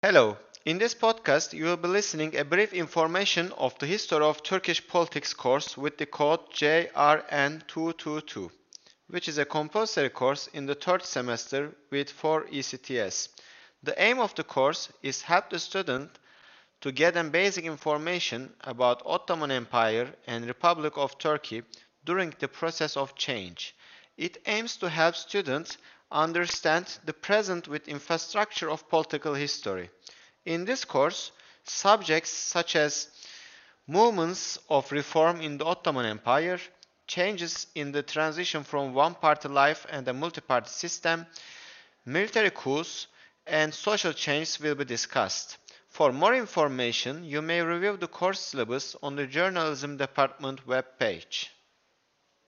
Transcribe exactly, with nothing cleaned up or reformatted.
Hello. In this podcast, you will be listening a brief information of the history of Turkish politics course with the code J R N two two two, which is a compulsory course in the third semester with four E C T S. The aim of the course is help the student to get a basic information about Ottoman Empire and Republic of Turkey during the process of change. It aims to help students understand the present with infrastructure of political history. In this course, subjects such as movements of reform in the Ottoman Empire, changes in the transition from one-party life and a multi-party system, military coups, and social change will be discussed. For more information, you may review the course syllabus on the Journalism Department web page.